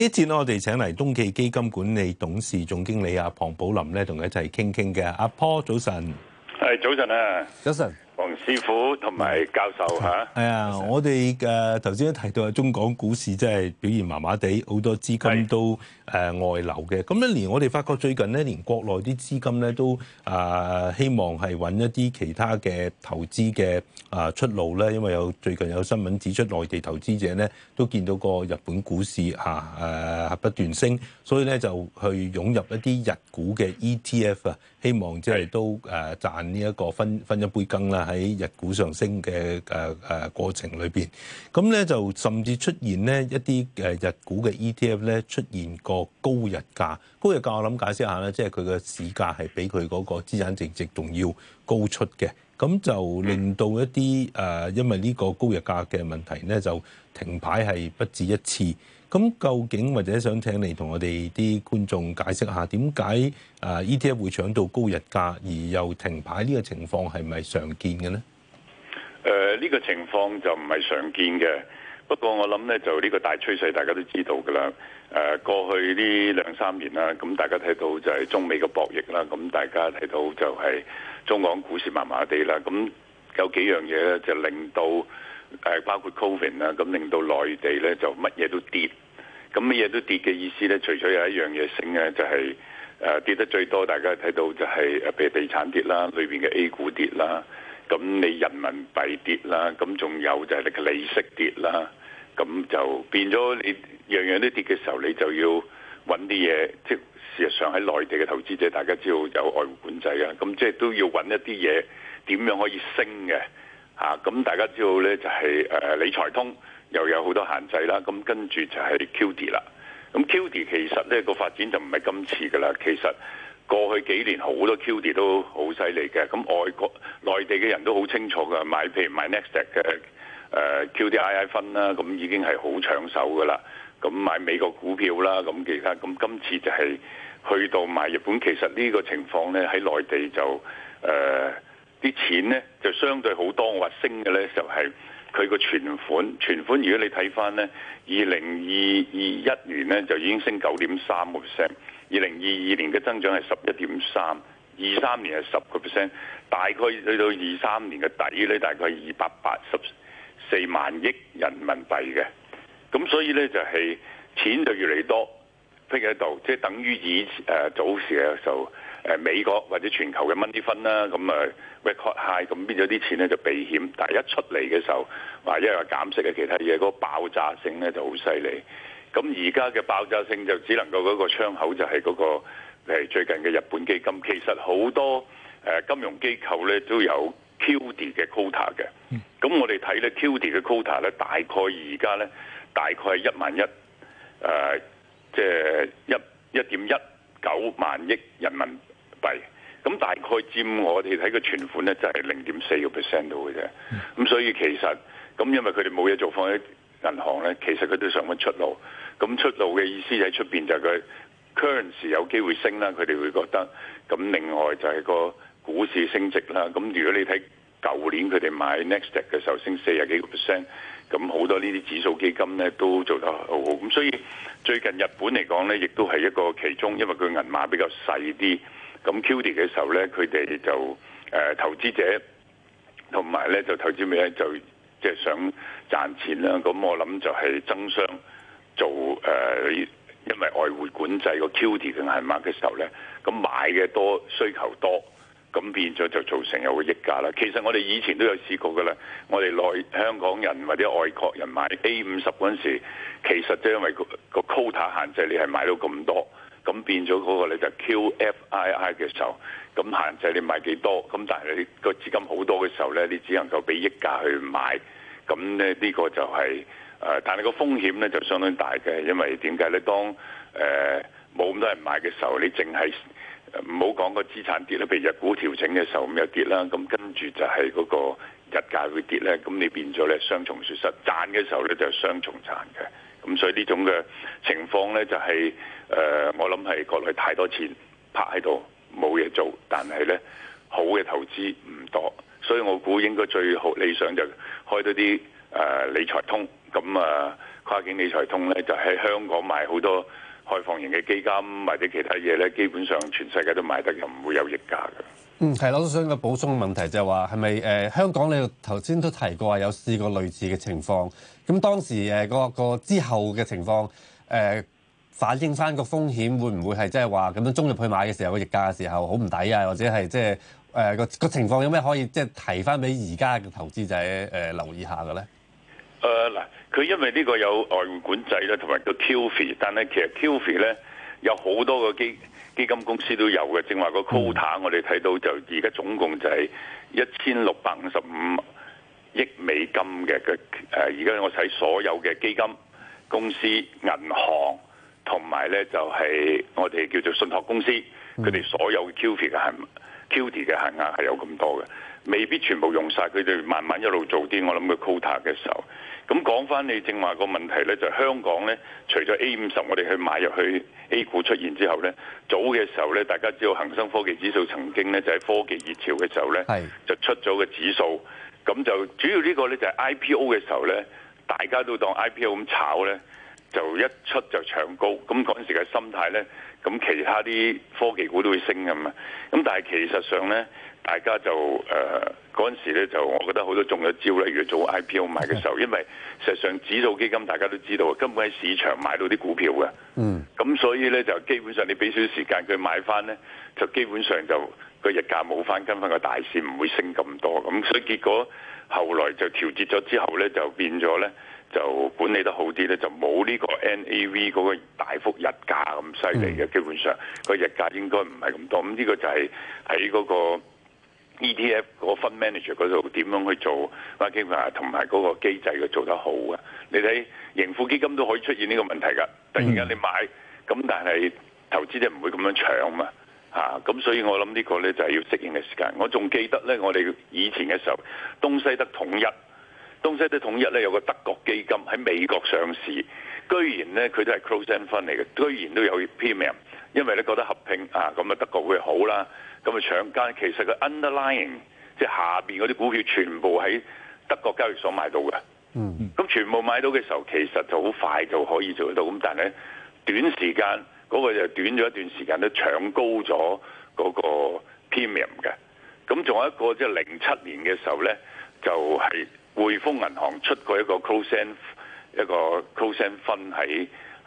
呢節我哋請嚟東驥基金管理董事總經理龐寶林咧，同佢一齊傾傾嘅。阿Paul早晨， 係早晨啊， 早晨， 黃師傅同埋教授嚇。 係啊，我哋頭先都提到中港股市真係表現麻麻地，好多資金都外流嘅。咁一年我哋發覺最近咧，連國內啲資金咧都希望係揾一啲其他嘅投資嘅出路咧，因為最近有新聞指出，內地投資者咧都見到個日本股市不斷升，所以咧就去湧入一啲日股嘅 ETF 啊，希望即係都賺呢一個分一杯羹啦，喺日股上升嘅過程裏邊。咁咧就甚至出現呢一啲日股嘅 ETF 咧出現個高日價。高日價我諗解釋下咧，即係佢嘅市價係比佢嗰個資產淨值仲要高出嘅。咁就令到一啲因為呢個高日價嘅問題咧，就停牌係不止一次。咁究竟或者想請你同我哋啲觀眾解釋下，點解ETF 會搶到高日價而又停牌呢個情況係咪常見嘅呢？ 呢個情況就唔係常見嘅，不過我諗咧就呢個大趨勢大家都知道㗎啦。過去呢2-3年啦，咁大家睇到就係中美嘅博弈啦，咁大家睇到就係中港股市麻麻地啦，咁有幾樣嘢咧就令到包括 Covid 啦，咁令到內地咧就乜嘢都跌，咁乜嘢都跌嘅意思咧，除咗有一樣嘢升咧，就係跌得最多，大家睇到就係譬如地產跌啦，裏邊嘅 A 股跌啦，咁你人民幣跌啦，咁仲有就係你嘅利息跌啦，咁就變咗你樣樣都跌嘅時候，你就要揾啲嘢，即係事實上喺內地嘅投資者，大家知道有外匯管制啊，咁即係都要揾一啲嘢點樣可以升嘅嚇，咁大家知道呢，就係理財通又有好多限制啦，咁跟住就係 QD 啦，咁 QD 其實呢個發展就唔係今次噶啦，其實過去幾年好多 QD 都好犀利嘅，咁外國內地嘅人都好清楚噶，譬如買 Nasdaq 嘅QDII 分啦，咁已經係好搶手噶啦。咁買美國股票啦，咁其他咁今次就係去到買日本，其實呢個情況呢，喺內地就啲錢呢就相對好多。我話升嘅呢，就係佢個存款，如果你睇翻呢，2021年呢就已經升9.3%， 2022年嘅增長係11.3%， 23年係10%，大概去到23年嘅底呢，大概係284萬億人民幣嘅。咁所以咧就係錢就越嚟越多，譬如喺度，即係等於早時嘅時候，美國或者全球嘅 money fund啦，咁record high，咁變咗啲錢咧就避險，但係一出嚟嘅時候，話因為減息嘅其他嘢，嗰個爆炸性咧就好犀利。咁而家嘅爆炸性就只能夠嗰個窗口就係嗰個最近嘅日本基金，其實好多金融機構咧都有 QD 嘅 quota 嘅。咁我哋睇咧 QD 嘅 quota 咧，大概而家咧。大概係11000億，即係1.19萬億人民幣。咁大概佔我哋睇嘅存款咧，就係0.4% 到嘅啫。咁所以其實咁，因為佢哋冇嘢做，放喺銀行咧，其實佢都想揾出路。咁出路嘅意思喺出邊就係佢 currency 有機會升啦，佢哋會覺得。咁另外就係個股市升值啦。咁如果你睇舊年佢哋買 Nasdaq 嘅時候升40幾個%。咁好多呢啲指數基金咧都做得好好，咁所以最近日本嚟講咧，亦都係一個其中，因為佢銀碼比較細啲，咁 QD 嘅時候咧，佢哋就投資者同埋咧就投資者就即係想賺錢啦，咁我諗就係爭相做因為外匯管制個 QD 嘅銀碼嘅時候咧，咁買嘅多，需求多。咁變咗就造成有個溢價啦。其實我哋以前都有試過㗎啦。我哋香港人或者外國人買 A50嗰陣時，其實即係因為個 quota 限制，你係買到咁多，咁變咗嗰個咧就 QFII 嘅時候，咁限制你買幾多，咁但係你個資金好多嘅時候咧，你只能夠俾溢價去買，咁咧呢個就係但係個風險咧就相當大嘅，因為點解咧？當冇咁多人買嘅時候，你淨係唔好講個資產跌啦，譬如日股調整嘅時候咁又跌啦，咁跟住就係嗰個日價會跌咧，咁你變咗咧雙重損失，賺嘅時候咧就係雙重賺嘅，咁所以呢種嘅情況咧就係我諗係國內太多錢拍喺度冇嘢做，但係咧好嘅投資唔多，所以我估應該最好理想就開多啲理財通，咁跨境理財通咧，就喺香港買好多開放型嘅基金或者其他嘢咧，基本上全世界都買得，又唔會有溢價嘅。 係啦，我都想個補充問題就係話係咪香港你頭先都提過話有試過類似嘅情況，咁當時個之後嘅情況反映翻個風險會唔會係即係話咁樣衝入去買嘅時候個溢價嘅時候好唔抵啊，或者係即係個情況有咩可以即係提翻俾而家嘅投資者留意下嘅咧？ 嗱，佢因為呢個有外匯管制咧，同埋個 QFII， 但係其實 QFII 咧有好多個基金公司都有嘅，正話個 quota 我哋睇到就而家總共就係1655億美金嘅而家我睇所有嘅基金公司、銀行同埋咧就係我哋叫做信託公司，佢哋所有嘅 QFII 嘅限額係有咁多嘅，未必全部用晒，佢哋慢慢一路做啲，我諗個 quota 嘅時候。咁講翻你正話個問題咧，就係香港咧，除咗 A50 我哋去買入去 A 股出現之後咧，早嘅時候咧，大家知道恒生科技指數曾經咧就喺科技熱潮嘅時候咧，就出咗個指數，咁就主要呢個咧就係 IPO 嘅時候咧，大家都當 IPO 咁炒咧，就一出就搶高，咁嗰陣時嘅心態咧，咁其他啲科技股都會升㗎嘛，咁但係其實上咧，大家就嗰陣時咧就我覺得好多中咗招咧，如果做 IPO 買嘅時候，因為實際上指數基金大家都知道，根本喺市場買到啲股票嘅，咁所以咧就基本上你俾少少時間佢買翻咧，就基本上就個日價冇翻跟翻個大市，唔會升咁多，咁所以結果後來就調節咗之後咧，就變咗咧。就管理得好啲咧，就冇呢個 NAV 嗰個大幅日價咁犀利嘅，基本上個日價應該唔係咁多。咁呢個就係喺嗰個 ETF 嗰個 fund manager 嗰度點樣去做 marketing 同埋嗰個機制嘅做得好嘅。你睇盈富基金都可以出現呢個問題㗎，突然間你買咁，但係投資者唔會咁樣搶嘛咁所以我諗呢個咧就係要適應嘅時間。我仲記得咧，我哋以前嘅時候，東西德統一咧有個德國基金喺美國上市，居然咧佢都係 closed-end fund 嚟嘅，居然都有 premium， 因為咧覺得合併咁啊德國會好啦，咁啊搶間其實個 underlying 即係下邊嗰啲股票全部喺德國交易所買到嘅，咁全部買到嘅時候其實就好快就可以做得到，咁但係咧短時間嗰個就短咗一段時間都搶高咗嗰個 premium 嘅，咁仲有一個即係07年嘅時候咧就係匯豐銀行出過一個 closed-end fund 喺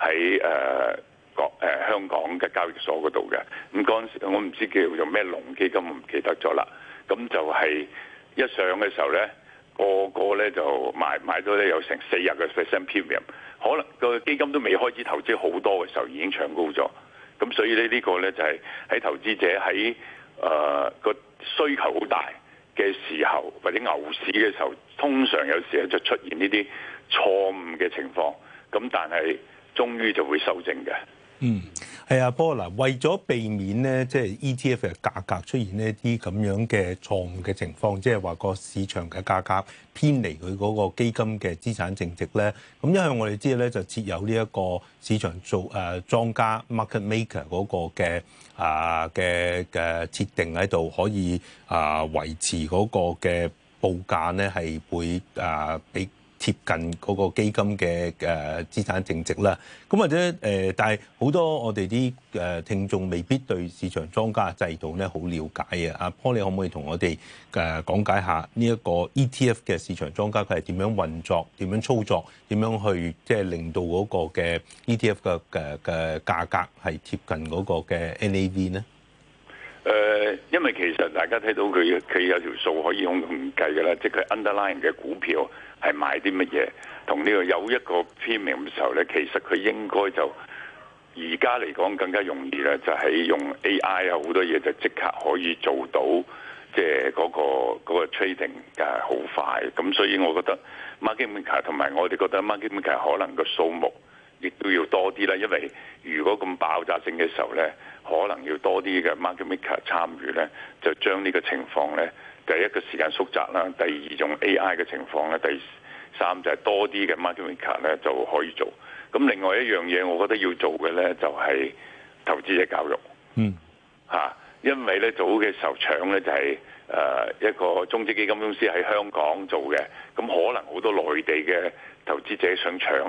香港嘅交易所嗰度嘅，咁嗰陣時我唔知叫做咩龍基金，我唔記得咗啦。咁就係一上嘅時候咧，個咧就買到咧有成40% premium， 可能個基金都未開始投資好多嘅時候已經搶高咗。咁所以咧呢個咧就係喺投資者喺個需求好大嘅時候，或者牛市嘅時候，通常有時就出現呢啲錯誤嘅情況，咁但係終於就會修正嘅。 係啊，不過嗱，為咗避免咧，即係 ETF 嘅價格出現呢啲咁樣嘅錯誤嘅情況，即係話個市場嘅價格偏離佢嗰個基金嘅資產淨值咧。咁一向我哋知道咧，就設有呢一個市場做莊家 market maker 嗰個嘅設定喺度，可以維持嗰個嘅報價咧係會比貼近嗰個基金嘅資產淨值啦，咁或者但係好多我哋啲聽眾未必對市場莊家制度咧好了解啊。阿 Paul，你可唔可以同我哋講解下呢一個 ETF 嘅市場莊家佢係點樣運作、點樣操作、點樣去即係令到嗰個嘅 ETF 嘅價格係貼近嗰個嘅 NAV 呢？ 因為其實大家睇到佢有條數可以用計嘅啦，即係佢 underlying 嘅股票係買啲乜嘢，同呢個有一個 premium 嘅時候咧，其實佢應該就而家嚟講更加容易啦，就係用 AI 啊好多嘢就即刻可以做到，即係嗰個 trading 好快，咁所以我覺得 market maker 同埋我哋覺得 market maker 可能個數目亦都要多啲啦，因為如果咁爆炸性嘅時候咧，可能要多啲嘅 market maker 參與咧，就將呢個情況咧，第一個時間縮窄啦，第二用 AI 嘅情況咧，第三就係多啲嘅 market maker 咧就可以做。咁另外一樣嘢，我覺得要做嘅咧就係投資者教育。因為咧早嘅時候搶咧就係一個中資基金公司喺香港做嘅，咁可能好多內地嘅投資者想搶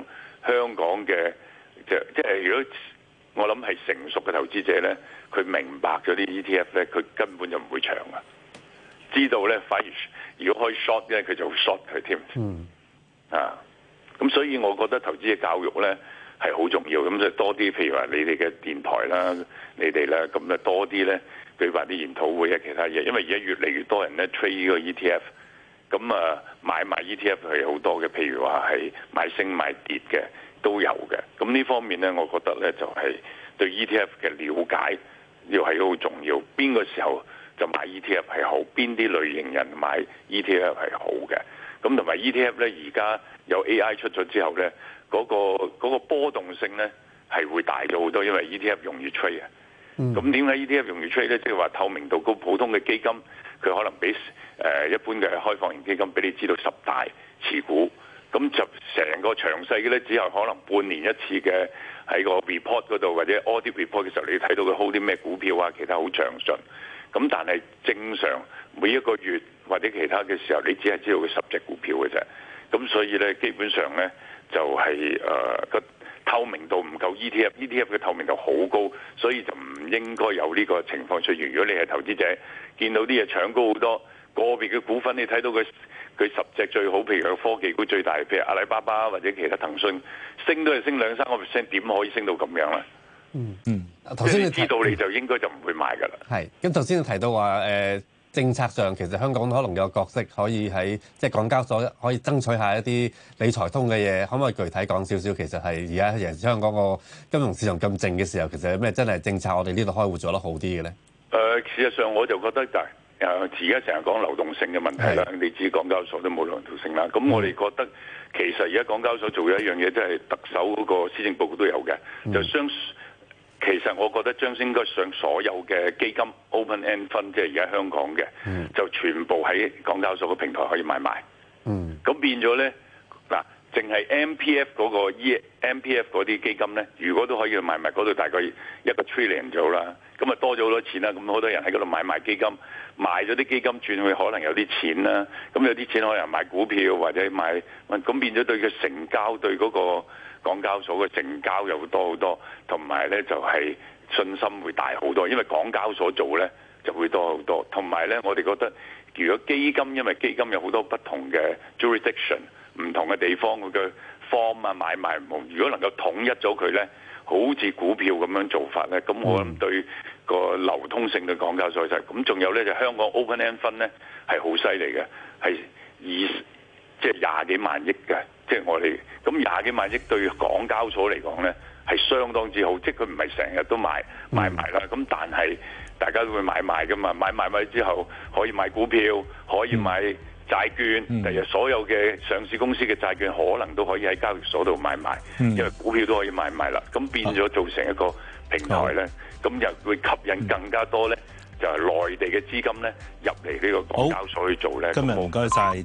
香港嘅即係如果我諗係成熟嘅投資者咧，佢明白咗啲 ETF 咧，佢根本就唔會長啊。知道咧，反而如果可以 short 咧，佢就會 short 佢添。咁所以我覺得投資嘅教育咧係好重要。咁就多啲，譬如話你哋嘅電台啦，你哋咧咁咧多啲咧舉辦啲研討會啊，其他嘢。因為而家越嚟越多人咧 trade 呢個 ETF，咁買賣 ETF 係好多嘅，譬如話係買升買跌嘅都有嘅。咁呢方面咧，我覺得咧就係對 ETF 嘅了解要係好重要。邊個時候就買 ETF 係好，邊啲類型人買 ETF 係好嘅。咁同埋 ETF 咧，而家有 AI 出咗之後咧，嗰個波動性咧係會大咗好多，因為 ETF 容易 trade 啊。咁點解 ETF 容易 trade 咧？即係話透明度高，普通嘅基金佢可能比一般嘅開放型基金俾你知道10大持股，咁就成個詳細嘅咧，只有可能半年一次嘅喺個 report 嗰度或者 audit report 嘅時候，你睇到佢 hold 啲咩股票啊，其他好詳盡。咁但係正常每一個月或者其他嘅時候，你只係知道佢10隻股票嘅啫。咁所以咧，基本上咧就係個透明度唔夠 ETF 嘅透明度好高，所以就唔應該有呢個情況出現。如果你係投資者，見到啲嘢搶高好多，個別嘅股份你睇到佢10隻最好，譬如有科技股最大，譬如阿里巴巴或者其他騰訊，升都係升2-3%，點可以升到咁樣咧？ 頭先你知道你就應該就唔會買㗎啦。 係，咁頭先你提到話政策上其實香港可能有角色可以喺即係港交所可以爭取下一啲理財通嘅嘢，可唔可以具體講少少？其實係而家尤其是香港個金融市場咁靜嘅時候，其實有咩真係政策我哋呢度開會做得好啲嘅咧？ 事實上我就覺得就係而家成日講流動性嘅問題啦，你知港交所都冇流動性啦。咁我哋覺得其實而家港交所做咗一樣嘢，即係特首嗰個施政報告都有嘅，就其實我覺得將應該上所有嘅基金 open end fund， 即係而家香港嘅，就全部喺港交所嘅平台可以買賣。咁變咗咧，嗱，淨係 MPF 嗰個 MPF 嗰啲基金咧，如果都可以買賣嗰度大概1個 trillion 咗啦，咁啊多咗好多錢啦。咁好多人喺嗰度買賣基金，賣咗啲基金轉去可能有啲錢啦。咁有啲錢可能買股票或者買，咁變咗對佢成交對嗰個港交所嘅成交又會多好多，同埋咧就係信心會大好多，因為港交所做咧就會多好多。同埋咧，我哋覺得如果基金，因為基金有好多不同嘅 jurisdiction， 唔同嘅地方佢嘅 form 啊買賣唔同，如果能夠統一咗佢咧，好似股票咁樣做法咧，咁我諗對個流通性嘅港交所就係咁。仲有咧就香港 open end fund 咧係好犀利嘅，係即係20幾萬億嘅。即係我哋咁20幾萬億對港交所嚟講咧係相當之好，即係佢唔係成日都買埋啦。咁但係大家都會買賣噶嘛，買賣之後可以買股票，可以買債券，第日所有嘅上市公司嘅債券可能都可以喺交易所度買賣，因為股票都可以買賣啦。咁變咗做成一個平台咧，咁又會吸引更加多咧，就係內地嘅資金咧入嚟呢個港交所去做咧。 今日唔該晒。